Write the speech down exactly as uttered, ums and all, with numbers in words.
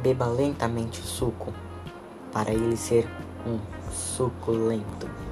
beba lentamente o suco, para ele ser um suculento.